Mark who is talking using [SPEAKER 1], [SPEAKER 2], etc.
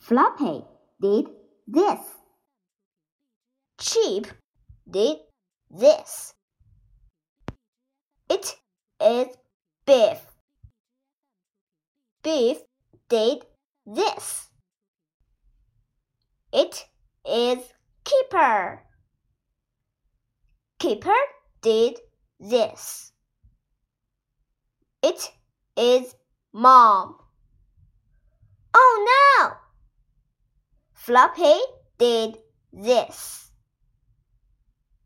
[SPEAKER 1] Floppy did this.
[SPEAKER 2] Chip did this. It is Biff. Biff did this. It is Keeper. Keeper did this. It is Mom. Oh no! Floppy did this.